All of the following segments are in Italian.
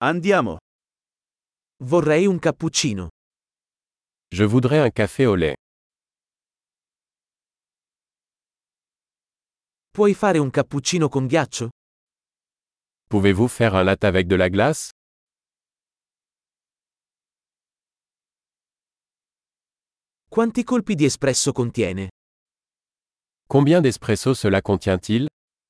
Andiamo. Vorrei un cappuccino. Je voudrais un café au lait. Puoi fare un cappuccino con ghiaccio? Pouvez-vous faire un latte avec de la glace? Quanti colpi di espresso contiene? Combien d'espresso cela contient-il?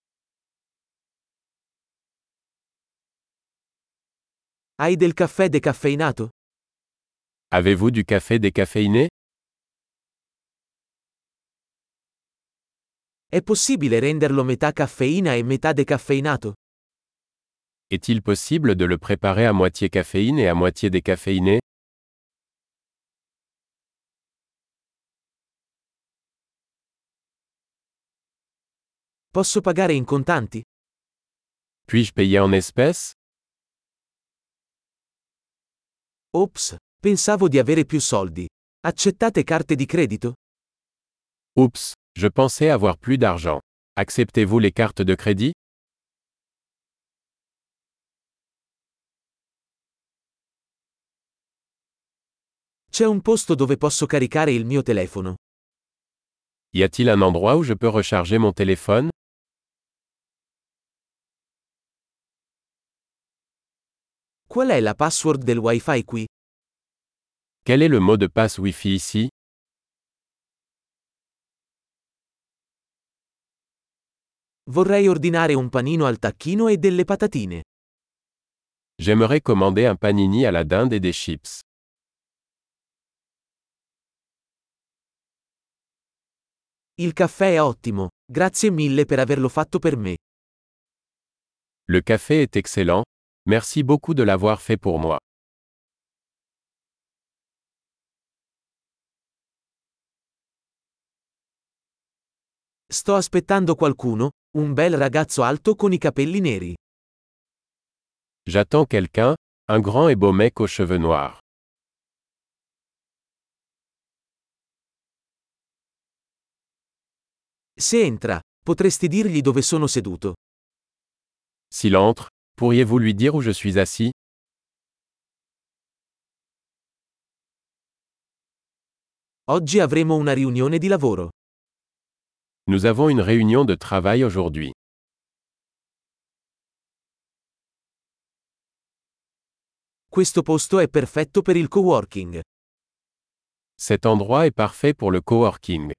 Hai del caffè decaffeinato? Avez-vous du café décaféiné? È possibile renderlo metà caffeina e metà decaffeinato? Est-il possible de le préparer à moitié caféine et à moitié décaféiné? Posso pagare in contanti? Puis-je payer en espèces? Ops, pensavo di avere più soldi. Accettate carte di credito? Oups, je pensais avoir plus d'argent. Acceptez-vous les cartes de crédit? C'è un posto dove posso caricare il mio telefono. Y a-t-il un endroit où je peux recharger mon téléphone? Qual è la password del Wi-Fi qui? Quel est le mot de passe Wi-Fi ici? Vorrei ordinare un panino al tacchino e delle patatine. J'aimerais commander un panini à la dinde et des chips. Il caffè è ottimo, grazie mille per averlo fatto per me. Le café est excellent. Merci beaucoup de l'avoir fait pour moi. Sto aspettando qualcuno, un bel ragazzo alto con i capelli neri. J'attends quelqu'un, un grand et beau mec aux cheveux noirs. Se entra, potresti dirgli dove sono seduto. S'il entre, pourriez-vous lui dire où je suis assis? Oggi avremo una riunione di lavoro. Nous avons une réunion de travail aujourd'hui. Questo posto è perfetto per il coworking. Cet endroit est parfait pour le coworking.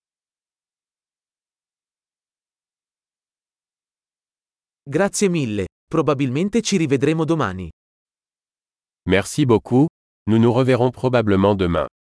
Grazie mille, probabilmente ci rivedremo domani. Merci beaucoup, nous nous reverrons probablement demain.